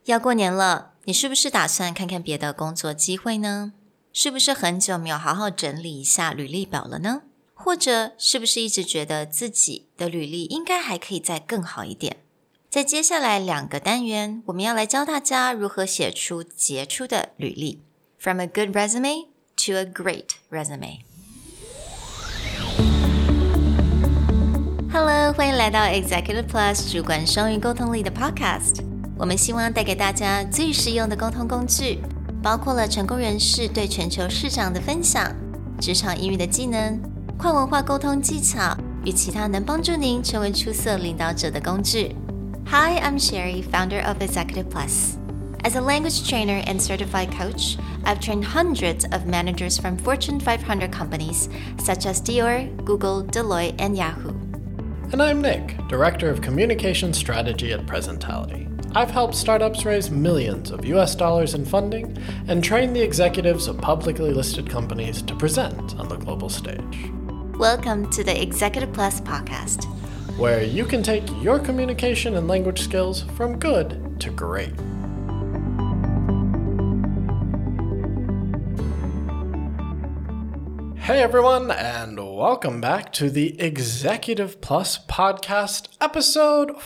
要過年了，你是不是打算看看別的工作機會呢？是不是很久沒有好好整理一下履歷表了呢？或者是不是一直覺得自己的履歷應該還可以再更好一點？在接下來2個單元，我們要來教大家如何寫出傑出的履歷。From a good resume to a great resume。Hello， 歡迎來到 Executive Plus 主管雙語溝通力的 Podcast。我們希望帶給大家最實用的溝通工具，包括了成功人士對全球市場的分享、職場英語的技能、跨文化溝通技巧與其他能幫助您成為出色領導者的工具。Hi, I'm Sherry, founder of Executive Plus. As a language trainer and certified coach, I've trained hundreds of managers from Fortune 500 companies such as Dior, Google, Deloitte, and Yahoo. And I'm Nick, Director of Communication Strategy at Presentality.I've helped startups raise millions of US dollars in funding and train the executives of publicly listed companies to present on the global stage. Welcome to the Executive Plus podcast, where you can take your communication and language skills from good to great. Hey everyone, and welcome back to the Executive Plus podcast, episode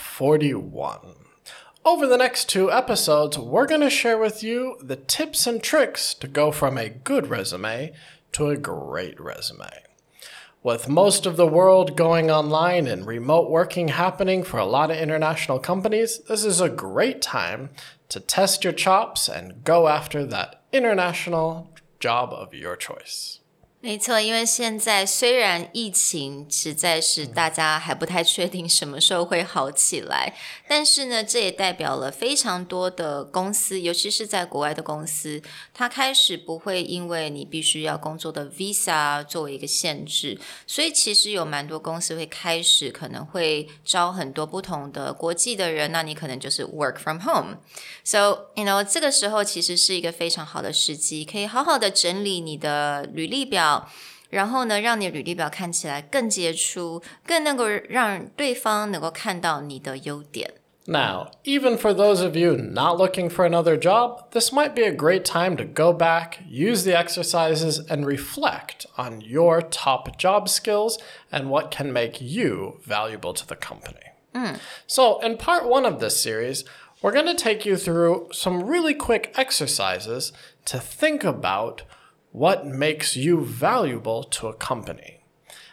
41.Over the next 2 episodes, we're going to share with you the tips and tricks to go from a good resume to a great resume. With most of the world going online and remote working happening for a lot of international companies, this is a great time to test your chops and go after that international job of your choice. 沒錯，因為現在雖然疫情實在是大家還不太確定什麼時候會好起來，但是呢，這也代表了非常多的公司，尤其是在國外的公司，它開始不會因為你必須要工作的 visa 作為一個限制，所以其實有蠻多公司會開始可能會招很多不同的國際的人，那你可能就是 work from home. So, 這個時候其實是一個非常好的時機，可以好好的整理你的履歷表，然後呢，讓你的履歷表看起來更傑出，更能夠讓對方能夠看到你的優點。 Now, even for those of you not looking for another job, this might be a great time to go back, use the exercises, and reflect on your top job skills and what can make you valuable to the company. So, in part 1 of this series, we're going to take you through some really quick exercises to think about what makes you valuable to a company.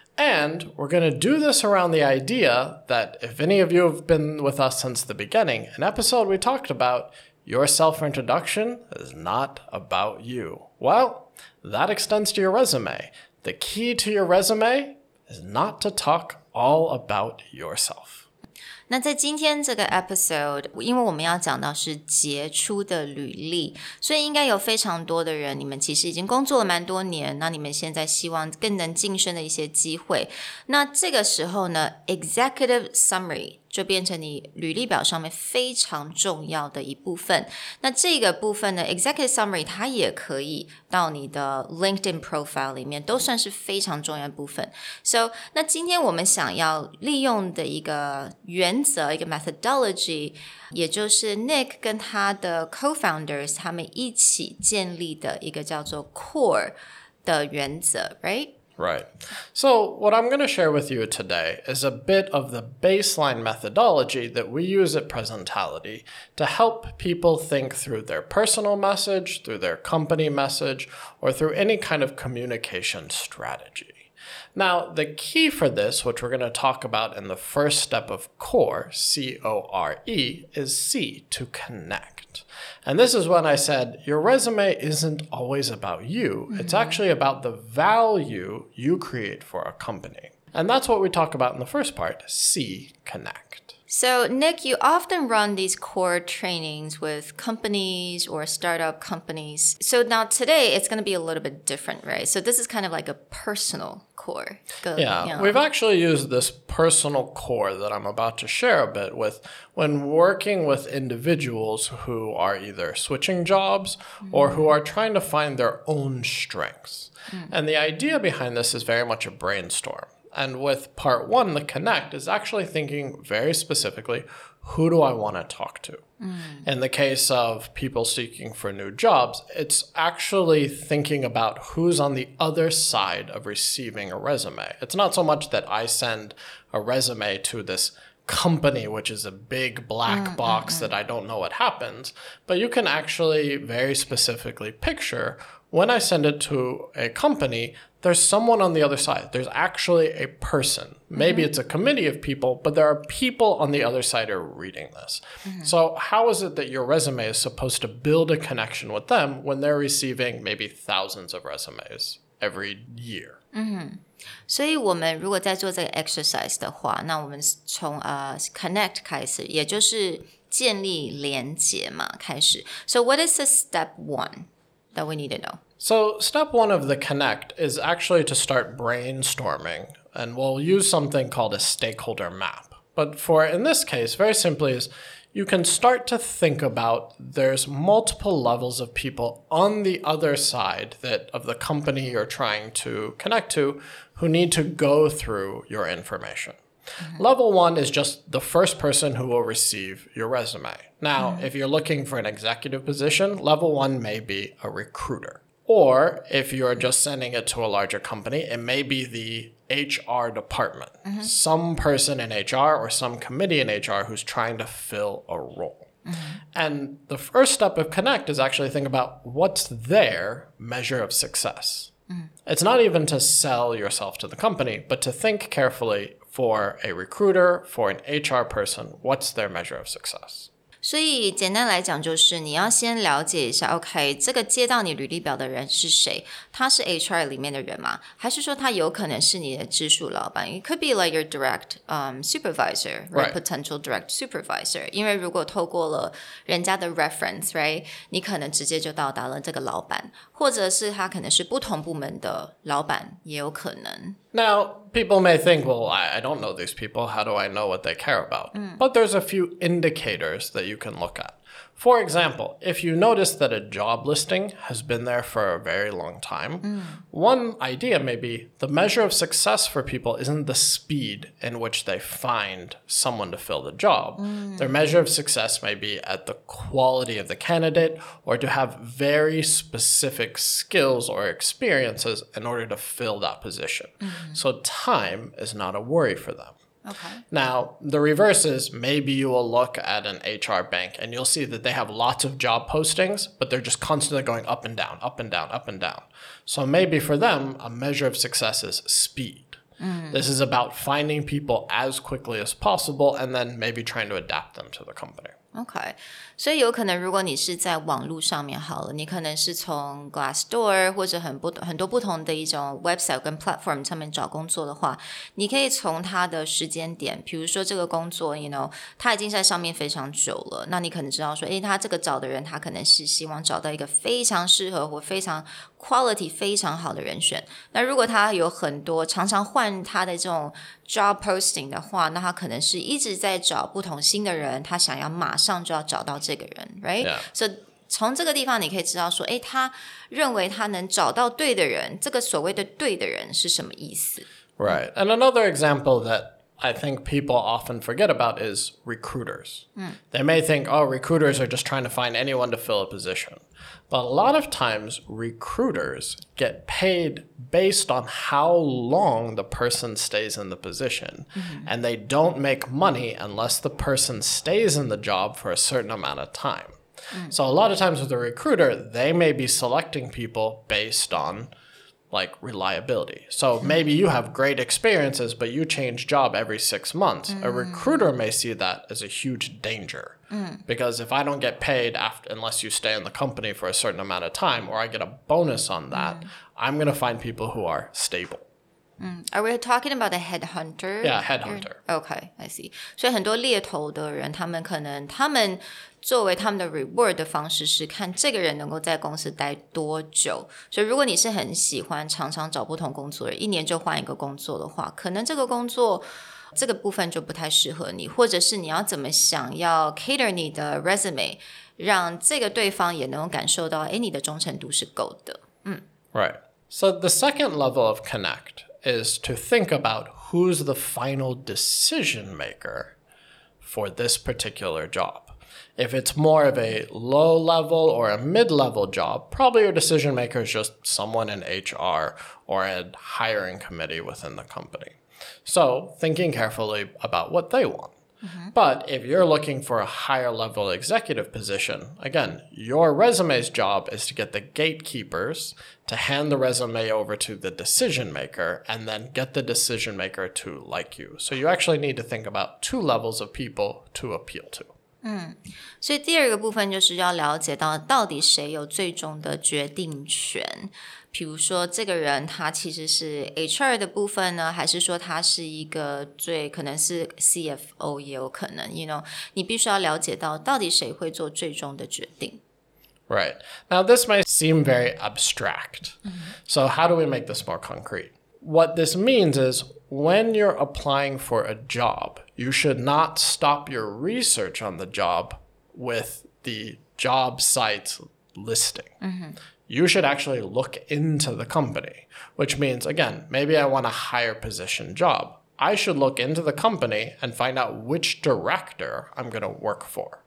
And we're going to do this around the idea that if any of you have been with us since the beginning, an episode we talked about, your self-introduction is not about you. Well, that extends to your resume. The key to your resume is not to talk all about yourself. 那在今天這個 episode， 因為我們要講到是傑出的履歷，所以應該有非常多的人，你們其實已經工作了蠻多年，那你們現在希望更能晉升的一些機會。那這個時候呢 ，executive summary 就變成你履歷表上面非常重要的一部分。那這個部分呢 ，executive summary 它也可以到你的 LinkedIn profile 裡面，都算是非常重要的部分。So， 那今天我們想要利用的一個原則，一個 methodology， 也就是 Nick 跟他的 co-founders 他們一起建立的一個叫做 CORE 的原則 ，right?Right. So what I'm going to share with you today is a bit of the baseline methodology that we use at Presentality to help people think through their personal message, through their company message, or through any kind of communication strategy. Now, the key for this, which we're going to talk about in the first step of CORE, C-O-R-E, is C, to connect.And this is when I said, your resume isn't always about you. It's actually about the value you create for a company. And that's what we talk about in the first part, C, connect. So, Nick, you often run these core trainings with companies or startup companies. So now today, it's going to be a little bit different, right? So this is kind of like a personal core. We've actually used this personal core that I'm about to share a bit with when working with individuals who are either switching jobs or who are trying to find their own strengths. And the idea behind this is very much a brainstorm.And with part 1, the connect, is actually thinking very specifically, who do I want to talk to? In the case of people seeking for new jobs, it's actually thinking about who's on the other side of receiving a resume. It's not so much that I send a resume to this company, which is a big black box that I don't know what happens, but you can actually very specifically picture when I send it to a company, there's someone on the other side. There's actually a person. Maybe it's a committee of people, but there are people on the other side who are reading this. So how is it that your resume is supposed to build a connection with them when they're receiving maybe thousands of resumes every year? 所以我们如果在做这个 exercise 的话，那我们从connect 开始，也就是建立连结嘛，开始。So what is the step one that we need to know? So step one of the connect is actually to start brainstorming, and we'll use something called a stakeholder map. But in this case, very simply is you can start to think about there's multiple levels of people on the other side of the company you're trying to connect to who need to go through your information. Level one is just the first person who will receive your resume. Now, if you're looking for an executive position, level one may be a recruiter. Or if you're just sending it to a larger company, it may be the HR department. Some person in HR or some committee in HR who's trying to fill a role. And the first step of connect is actually think about what's their measure of success. It's not even to sell yourself to the company, but to think carefully for a recruiter, for an HR person, what's their measure of success? 所以简单来讲就是你要先了解一下 OK 这个接到你履历表的人是谁，他是 HR 裡面的人吗？还是說他有可能是你的直屬老闆？ It could be like your direct supervisor, right? Potential direct supervisor. 因為如果透過了人家的 reference, right? 你可能直接就到達了這個老闆，或者是他可能是不同部門的老闆也有可能。 Now, people may think, well, I don't know these people. How do I know what they care about? But there's a few indicators that you can look at. For example, if you notice that a job listing has been there for a very long time, one idea may be the measure of success for people isn't the speed in which they find someone to fill the job. Their measure of success may be at the quality of the candidate or to have very specific skills or experiences in order to fill that position. So time is not a worry for them. Okay. Now, the reverse is maybe you will look at an HR bank and you'll see that they have lots of job postings, but they're just constantly going up and down, up and down, up and down. So maybe for them, a measure of success is speed. This is about finding people as quickly as possible and then maybe trying to adapt them to the company. OK， 所以有可能如果你是在網絡上面好了，你可能是從 Glassdoor 或者很多不同的一種 website 跟 platform 上面找工作的話，你可以從它的時間點，比如說這個工作 you know 它已經在上面非常久了，那你可能知道說他這個找的人他可能是希望找到一個非常適合或非常 quality 非常好的人選。那如果他有很多常常換他的這種 job posting 的話，那他可能是一直在找不同新的人，他想要馬上就要找到這個人 right? Yeah. So 從這個地方你可以知道說他認為他能找到對的人，這個所謂的對的人是什麼意思？ Right. And another example that I think people often forget about is recruiters. They may think, oh, recruiters are just trying to find anyone to fill a position. But a lot of times, recruiters get paid based on how long the person stays in the position. And they don't make money unless the person stays in the job for a certain amount of time. So a lot of times with a recruiter, they may be selecting people based on like reliability. So maybe you have great experiences, but you change job every 6 months. A recruiter may see that as a huge danger. Because if I don't get paid unless you stay in the company for a certain amount of time, or I get a bonus on that, I'm going to find people who are stable. Are we talking about a headhunter? Yeah, headhunter. Okay, I see. 所以很多獵頭的人，他們作為他們的 reward 的方式是看這個人能夠在公司待多久。所以如果你是很喜歡常常找不同工作的人，1年就換一個工作的話，可能這個工作這個部分就不太適合你，或者是你要怎麼想要 cater 你的 resume， 讓這個對方也能夠感受到你的忠誠度是夠的。 Right. So the second level of connect is to think about who's the final decision maker for this particular job. If it's more of a low level or a mid-level job, probably your decision maker is just someone in HR or a hiring committee within the company. So thinking carefully about what they want. But if you're looking for a higher level executive position, again, your resume's job is to get the gatekeepers to hand the resume over to the decision maker and then get the decision maker to like you. So you actually need to think about 2 levels of people to appeal to. 所以第二個部分就是要了解到底誰有最終的決定權。比如說這個人他其實是 HR 的部分呢，還是說他是一個可能是 CFO 也有可能 你必須要了解到底誰會做最終的決定。 Right. Now, this may seem very abstract. So how do we make this more concrete? What this means is when you're applying for a job, you should not stop your research on the job with the job site's listing. You should actually look into the company, which means, again, maybe I want a higher position job. I should look into the company and find out which director I'm going to work for.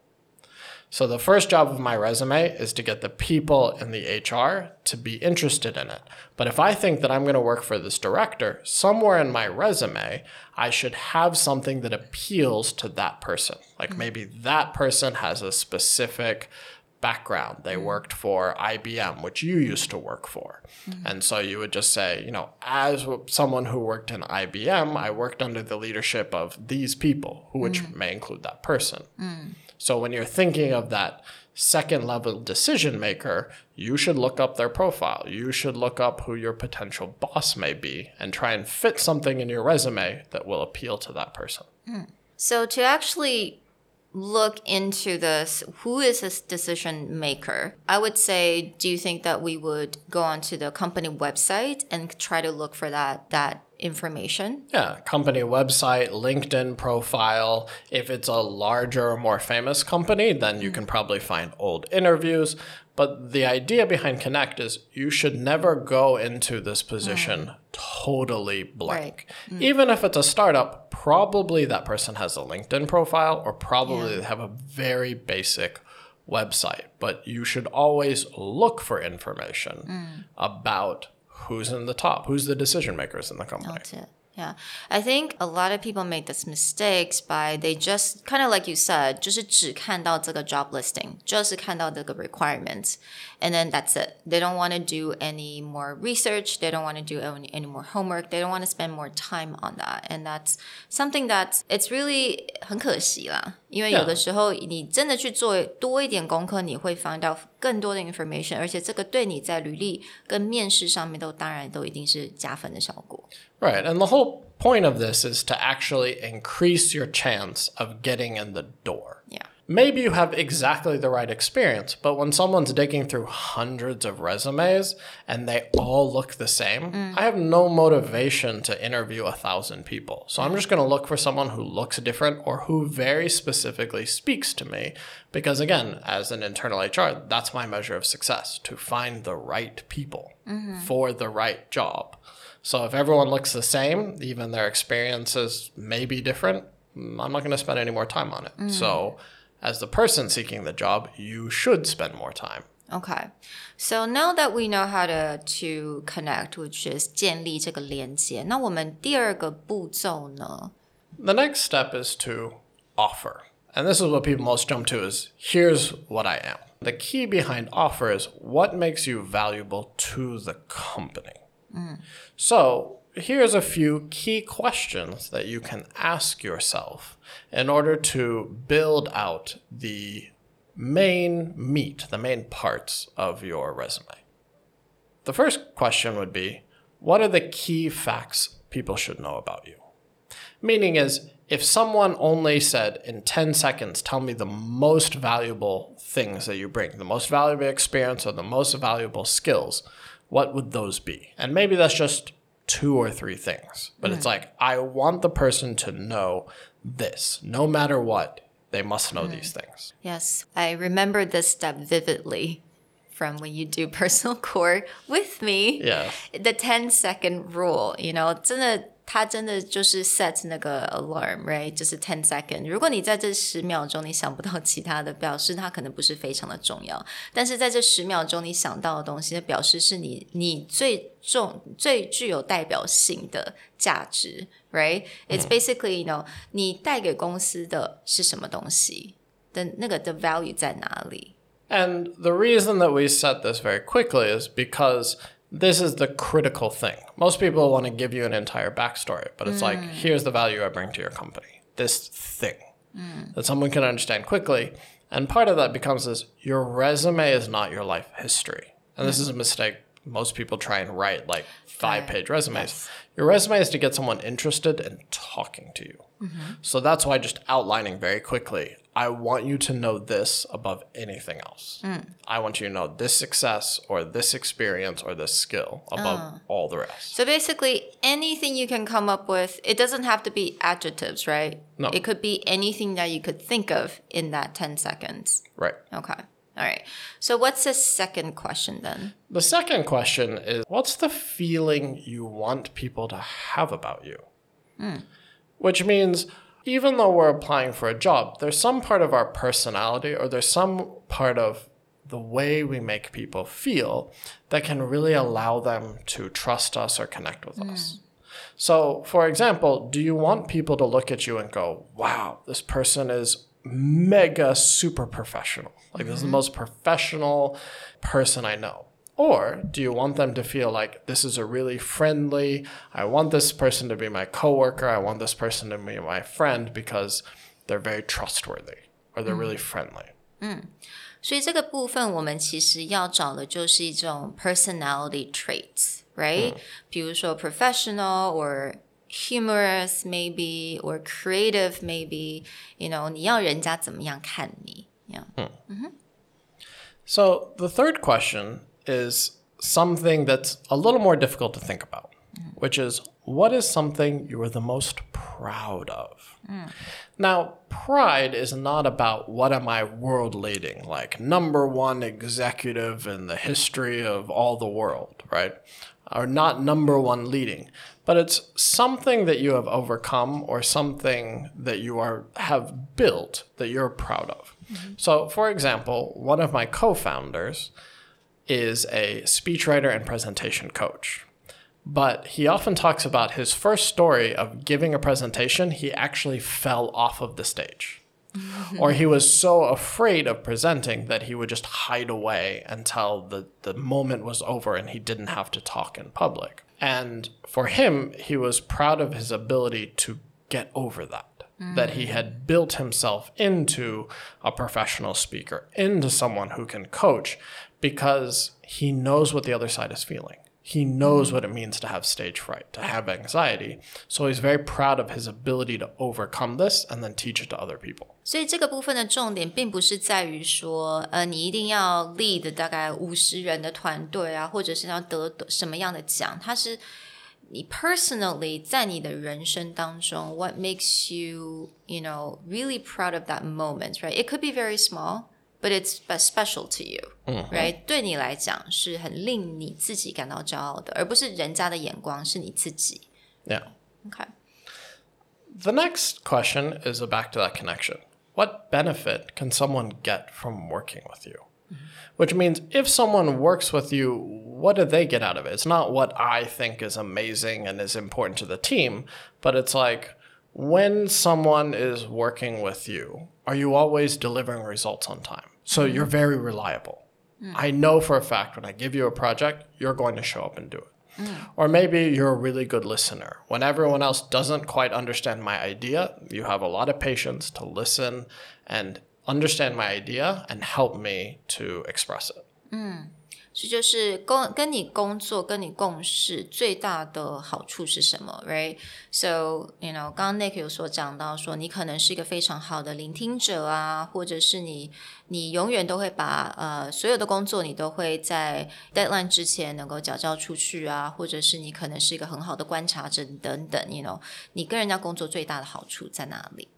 So the first job of my resume is to get the people in the HR to be interested in it. But if I think that I'm going to work for this director, somewhere in my resume, I should have something that appeals to that person. Like maybe that person has a specific background. They worked for IBM, which you used to work for. And so you would just say, as someone who worked in IBM, I worked under the leadership of these people, which may include that person. So when you're thinking of that second level decision maker, you should look up their profile. You should look up who your potential boss may be and try and fit something in your resume that will appeal to that person. So to actually look into this, who is this decision maker? I would say, do you think that we would go onto the company website and try to look for that information? Yeah, company website, LinkedIn profile. If it's a larger or more famous company, then you can probably find old interviews. But the idea behind Connect is you should never go into this position totally blank. Right. Even if it's a startup, probably that person has a LinkedIn profile or probably they have a very basic website. But you should always look for information about who's in the top, who's the decision makers in the company. That's it. Yeah. I think a lot of people make this mistakes by they just kind of like you said, 就是只看到这個 job listing, 就是看到這個 requirements, and then that's it. They don't want to do any more research. They don't want to do any more homework. They don't want to spend more time on that. And that's something that it's really 很可惜啦。因為有的時候你真的去做多一點功課，你會 find out 更多的 information， 而且這個對你在履歷跟面試上面當然都一定是加分的效果。 Right, and the whole point of this is to actually increase your chance of getting in the door. Yeah. Maybe you have exactly the right experience, but when someone's digging through hundreds of resumes and they all look the same, I have no motivation to interview 1,000 people. So I'm just going to look for someone who looks different or who very specifically speaks to me. Because again, as an internal HR, that's my measure of success, to find the right people for the right job. So if everyone looks the same, even their experiences may be different, I'm not going to spend any more time on it. So as the person seeking the job, you should spend more time. Okay. So now that we know how to connect, which is 建立這個連接，那我們第二個步驟呢? The next step is to offer. And this is what people most jump to is, here's what I am. The key behind offer is what makes you valuable to the company. So here's a few key questions that you can ask yourself in order to build out the main meat, the main parts of your resume. The first question would be, what are the key facts people should know about you? Meaning is, if someone only said in 10 seconds, tell me the most valuable things that you bring, the most valuable experience or the most valuable skills, what would those be? And maybe that's just 2 or 3 things. But it's like, I want the person to know this. No matter what, they must know these things. Yes, I remember this step vividly from when you do personal core with me. Yeah. The 10-second rule, 真的它真的就是 set 那個 alarm, right? 就是10 seconds. 如果你在這10秒鐘你想不到其他的，表示它可能不是非常的重要。但是在這10秒鐘你想到的東西，表示是你最具有代表性的價值 right? It's basically,你帶給公司的是什麼東西的那個的 value 在哪裡。 And the reason that we set this very quickly is because this is the critical thing. Most people want to give you an entire backstory, but it's like, here's the value I bring to your company. This thing that someone can understand quickly. And part of that becomes this, your resume is not your life history. And this is a mistake. Most people try and write like 5-page resumes. Yes. Your resume is to get someone interested in talking to you. So that's why just outlining very quickly, I want you to know this above anything else. I want you to know this success or this experience or this skill above all the rest. So basically, anything you can come up with, it doesn't have to be adjectives, right? No. It could be anything that you could think of in that 10 seconds. Right. Okay. All right. So what's the second question then? The second question is, what's the feeling you want people to have about you? Which means, even though we're applying for a job, there's some part of our personality or there's some part of the way we make people feel that can really allow them to trust us or connect with us. So, for example, do you want people to look at you and go, wow, this person is mega super professional. Like, this is the most professional person I know. Or do you want them to feel like this is a really friendly, I want this person to be my coworker, I want this person to be my friend because they're very trustworthy or they're really friendly. 所以这個部分我們其實要找的就是一種 personality traits, right? 比如說 professional or humorous maybe or creative maybe, 你要人家怎麼樣看你 So the third question is something that's a little more difficult to think about, which is, what is something you are the most proud of? Now, pride is not about what am I world leading, like #1 executive in the history of all the world, right? Or not #1 leading, but it's something that you have overcome or something that you have built that you're proud of. So, for example, one of my co-founders is a speechwriter and presentation coach. But he often talks about his first story of giving a presentation, he actually fell off of the stage. Or he was so afraid of presenting that he would just hide away until the moment was over and he didn't have to talk in public. And for him, he was proud of his ability to get over that. That he had built himself into a professional speaker, into someone who can coach, because he knows what the other side is feeling. He knows what it means to have stage fright, to have anxiety. So he's very proud of his ability to overcome this and then teach it to other people. 所以这個部分的重點並不是在於說，你一定要 lead 大概50人的團隊啊，或者是要得什麼樣的獎，它是你 personally 在你的人生當中 what makes you, really proud of that moment, right? It could be very small, but it's special to you, right? 對你來講是很令你自己感到驕傲的，而不是人家的眼光，是你自己。 Yeah. Okay. The next question is back to that connection. What benefit can someone get from working with you? Which means if someone works with you, what do they get out of it? It's not what I think is amazing and is important to the team, but it's like, when someone is working with you, are you always delivering results on time? So you're very reliable. I know for a fact when I give you a project, you're going to show up and do it. Or maybe you're a really good listener. When everyone else doesn't quite understand my idea, you have a lot of patience to listen and understand my idea and help me to express it. 所以就是跟你工作跟你共事最大的好處是什麼 right? So, 剛剛 Nick 有所講到說你可能是一個非常好的聆聽者啊，或者是你永遠都會把所有的工作你都會在 deadline 之前能夠交出去啊，或者是你可能是一個很好的觀察者等等，你跟人家工作最大的好處在哪裡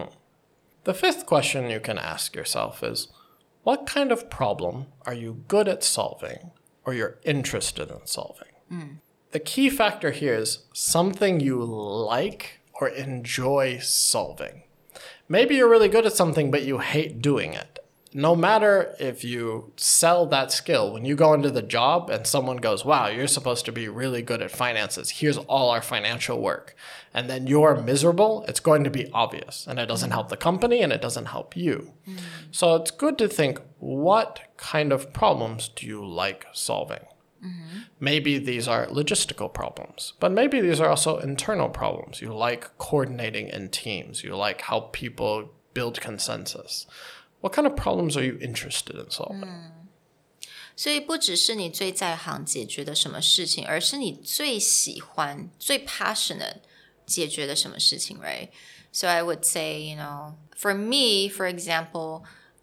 The fifth question you can ask yourself is, what kind of problem are you good at solving or you're interested in solving? the key factor here is something you like or enjoy solving. Maybe you're really good at something, but you hate doing it. No matter if you sell that skill, when you go into the job and someone goes, wow, you're supposed to be really good at finances. Here's all our financial work. And then you're miserable, it's going to be obvious. And it doesn't help the company and it doesn't help you. So it's good to think, what kind of problems do you like solving? Maybe these are logistical problems, but maybe these are also internal problems. You like coordinating in teams. You like how people build consensus. What kind of problems are you interested in solving? 所以不只是你最在行解決的什麼事情，而是你最喜歡、最 passionate 解決的什麼事情 right? So I would say, for me, for example,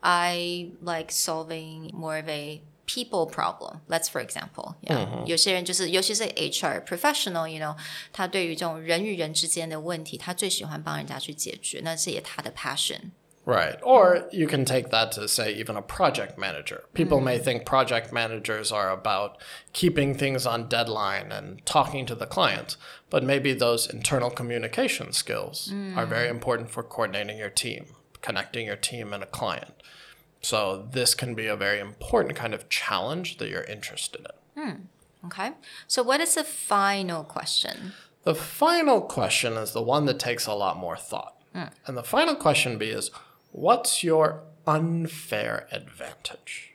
I like solving more of a people problem. Let's for example. Yeah. 有些人就是尤其是 HR professional, 他对於這種人與人之間的問題，他最喜歡幫人家去解決，那是也他的 passion. Right. Or you can take that to say even a project manager. People may think project managers are about keeping things on deadline and talking to the client, but maybe those internal communication skills are very important for coordinating your team, connecting your team and a client. So this can be a very important kind of challenge that you're interested in. Okay. So what is the final question? The final question is the one that takes a lot more thought. And the final question is, what's your unfair advantage?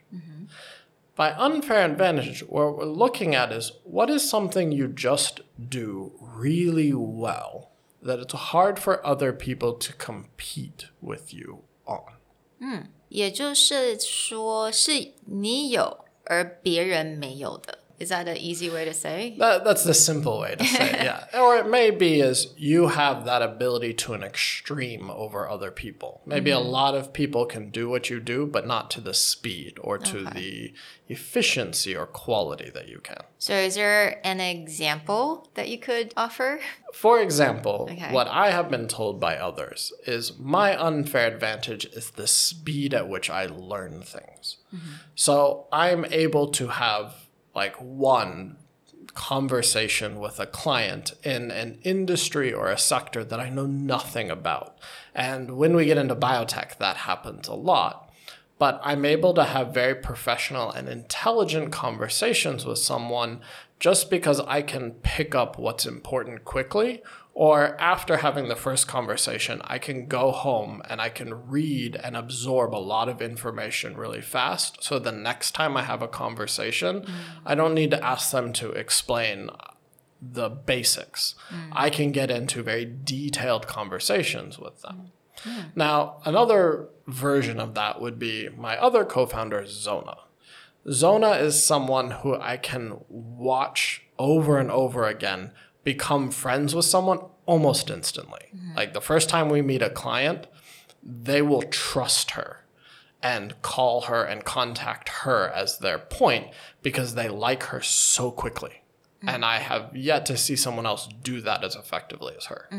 By unfair advantage, what we're looking at is, what is something you just do really well that it's hard for other people to compete with you on? 也就是说是你有而別人沒有的。Is that an easy way to say? That's the simple way to say it, yeah. Or it may be is you have that ability to an extreme over other people. Maybe a lot of people can do what you do, but not to the speed or to the efficiency or quality that you can. So is there an example that you could offer? For example, what I have been told by others is my unfair advantage is the speed at which I learn things. So I'm able to have like one conversation with a client in an industry or a sector that I know nothing about. And when we get into biotech, that happens a lot. But I'm able to have very professional and intelligent conversations with someone just because I can pick up what's important quickly, or after having the first conversation, I can go home and I can read and absorb a lot of information really fast. So the next time I have a conversation, I don't need to ask them to explain the basics. I can get into very detailed conversations with them. Now, another version of that would be my other co-founder, Zona. Zona is someone who I can watch over and over again become friends with someone almost instantly. Like the first time we meet a client, they will trust her and call her and contact her as their point because they like her so quickly. And I have yet to see someone else do that as effectively as her.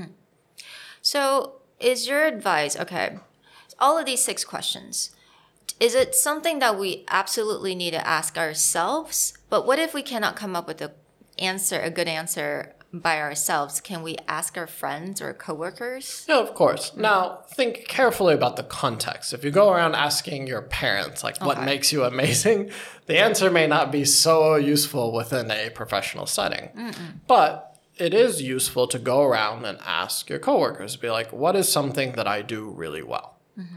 So is your advice, all of these 6 questions, is it something that we absolutely need to ask ourselves? But what if we cannot come up with a good answer by ourselves? Can we ask our friends or coworkers? Yeah, of course. Now, think carefully about the context. If you go around asking your parents, like, what makes you amazing, the answer may not be so useful within a professional setting. But it is useful to go around and ask your coworkers, be like, what is something that I do really well?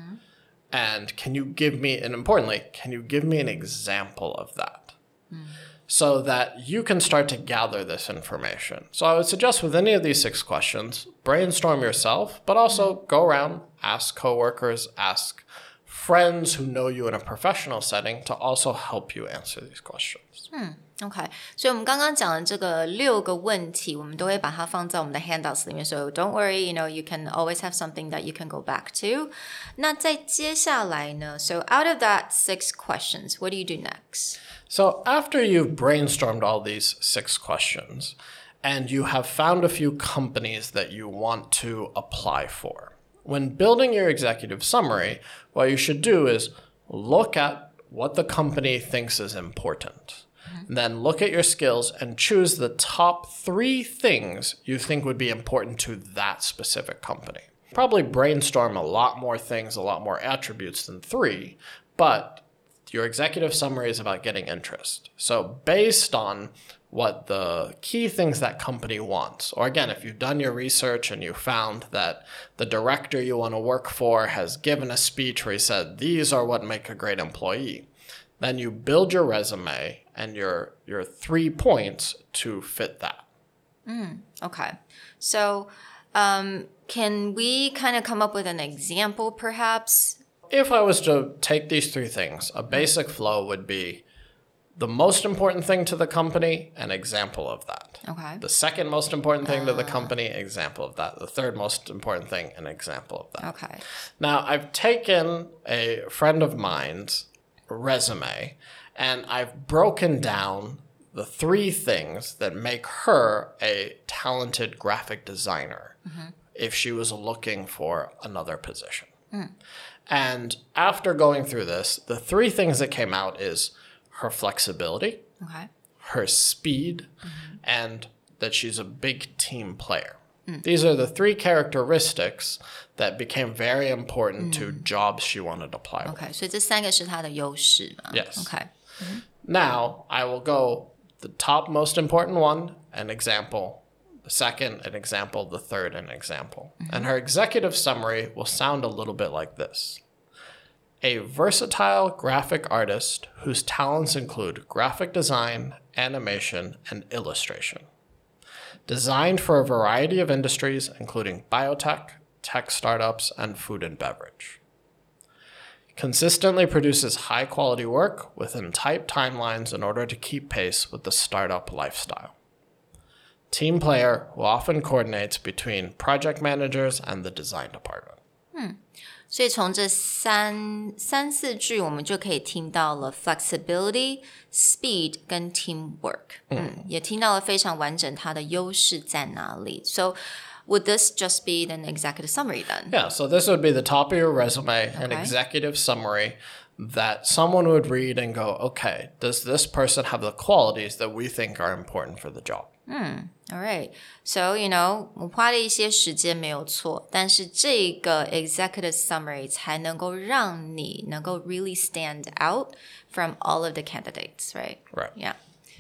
And can you give me, and importantly, can you give me an example of that? So that you can start to gather this information. So I would suggest with any of these 6 questions, brainstorm yourself, but also go around, ask coworkers, ask friends who know you in a professional setting to also help you answer these questions. OK， 所以我們剛剛講的這個6個問題，我們都會把它放在我們的 handouts 裡面。So don't worry, you can always have something that you can go back to. 那在接下來呢 So out of that 6 questions, what do you do next? So after you've brainstormed all these 6 questions, and you have found a few companies that you want to apply for, when building your executive summary, what you should do is look at what the company thinks is important. Then look at your skills and choose the top 3 things you think would be important to that specific company. Probably brainstorm a lot more things, a lot more attributes than 3, but your executive summary is about getting interest. So based on what the key things that company wants, or again, if you've done your research and you found that the director you want to work for has given a speech where he said, these are what make a great employee, then you build your resume and your 3 points to fit that. Okay. So can we kind of come up with an example, perhaps? If I was to take these 3 things, a basic flow would be the most important thing to the company, an example of that. Okay. The second most important thing to the company, example of that. The third most important thing, an example of that. Okay. Now, I've taken a friend of mine's resume and I've broken down the 3 things that make her a talented graphic designer if she was looking for another position. And after going through this, the 3 things that came out is her flexibility, her speed, and that she's a big team player. These are the 3 characteristics that became very important to jobs she wanted to apply with. Okay, 所以这3个是她的優勢嘛? Yes. Okay. Now, I will go the top most important one, an example. The second, an example. The third, an example. And her executive summary will sound a little bit like this. A versatile graphic artist whose talents include graphic design, animation, and illustration. Designed for a variety of industries, including biotech, tech startups, and food and beverage. Consistently produces high-quality work within tight timelines in order to keep pace with the startup lifestyle. Team player who often coordinates between project managers and the design department. 所以從這三四句我們就可以聽到了 flexibility, speed 跟 teamwork. 也聽到了非常完整它的優勢在哪裡. So would this just be an executive summary then? Yeah, so this would be the top of your resume, an executive summary that someone would read and go, okay, does this person have the qualities that we think are important for the job? All right. So, 我花了一些時間沒有錯，但是這個 executive summary 才能夠讓你能夠 really stand out from all of the candidates, right? Right. Yeah.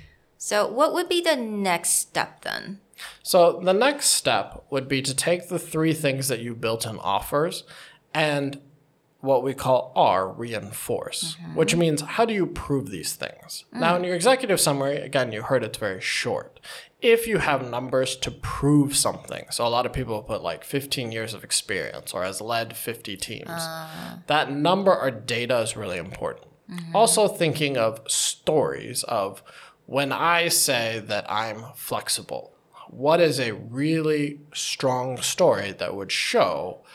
So what would be the next step then? So the next step would be to take the 3 things that you built in offers and what we call R, reinforce, which means how do you prove these things? Now, in your executive summary, again, you heard it's very short. If you have numbers to prove something, so a lot of people put like 15 years of experience or has led 50 teams, that number or data is really important. Also thinking of stories of when I say that I'm flexible, what is a really strong story that would show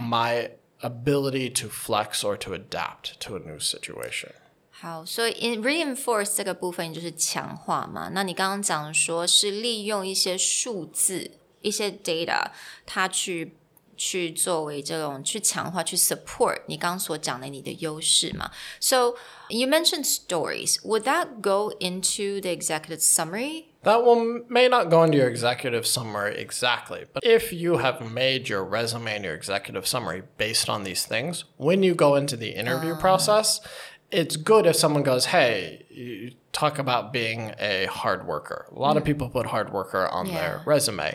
my ability to flex or to adapt to a new situation. 好，所以 reinforce 這個部分就是強化嘛。那你剛剛講說是利用一些數字、一些 data， 它去作為這種去強化、去 support 你剛剛所講的你的優勢嘛。So you mentioned stories. Would that go into the executive summary? That may not go into your executive summary exactly, but if you have made your resume and your executive summary based on these things, when you go into the interview process, it's good if someone goes, hey, you talk about being a hard worker. A lot of people put hard worker on their resume.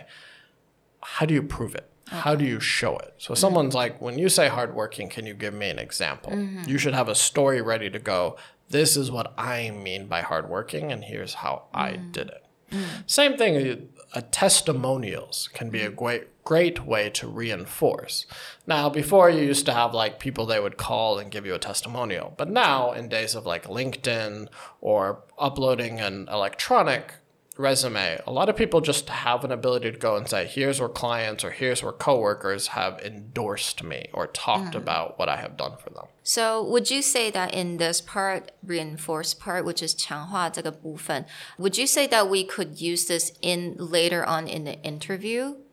How do you prove it? How do you show it? So someone's like, when you say hardworking, can you give me an example? You should have a story ready to go. This is what I mean by hardworking, and here's how I did it. Same thing, testimonials can be a great way to reinforce. Now, before you used to have like people they would call and give you a testimonial. But now, in days of like LinkedIn or uploading an electronic resume, a lot of people just have an ability to go and say, here's where clients or here's where coworkers have endorsed me or talked about what I have done for them. So would you say that in this part, reinforce part, which is 強化這個部分, would you say that we could use this in later on in the interview?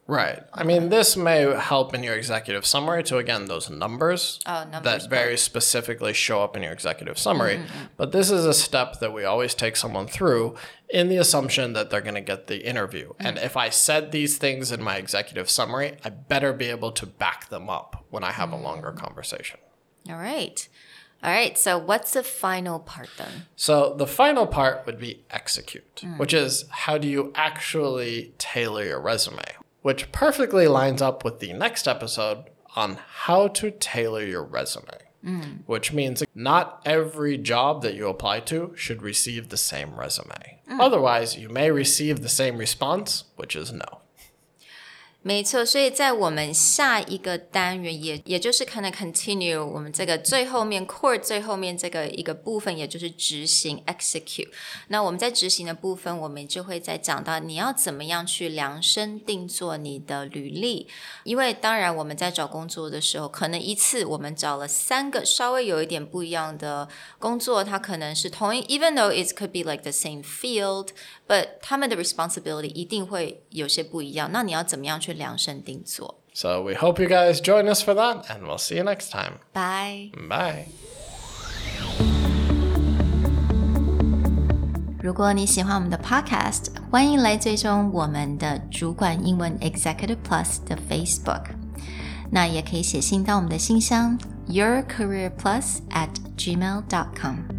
Right. I mean, this may help in your executive summary to, again, those numbers, that very specifically show up in your executive summary. But this is a step that we always take someone through in the assumption that they're going to get the interview. And if I said these things in my executive summary, I better be able to back them up when I have a longer conversation. All right. So what's the final part then? So the final part would be execute, which is how do you actually tailor your resume, which perfectly lines up with the next episode on how to tailor your resume, which means not every job that you apply to should receive the same resume. Otherwise, you may receive the same response, which is no. 没錯，所以在我们下一個單元也就是可能 continue 我們這個最後面 core 最後面這個一個部分，也就是執行 execute。那我們在執行的部分，我們就會再講到你要怎麼樣去量身定做你的履歷。因為當然我們在找工作的時候，可能一次我們找了3個稍微有一點不一樣的工作，它可能是同一 even though it could be like the same field。But 他們的 responsibility 一定會有些不一樣，那你要怎麼樣去量身定做？ So we hope you guys join us for that, and we'll see you next time. Bye. Bye. 如果你喜歡我們的 podcast， 歡迎來追蹤我們的主管英文 Executive Plus 的 Facebook。那也可以寫信到我們的信箱 yourcareerplus@gmail.com。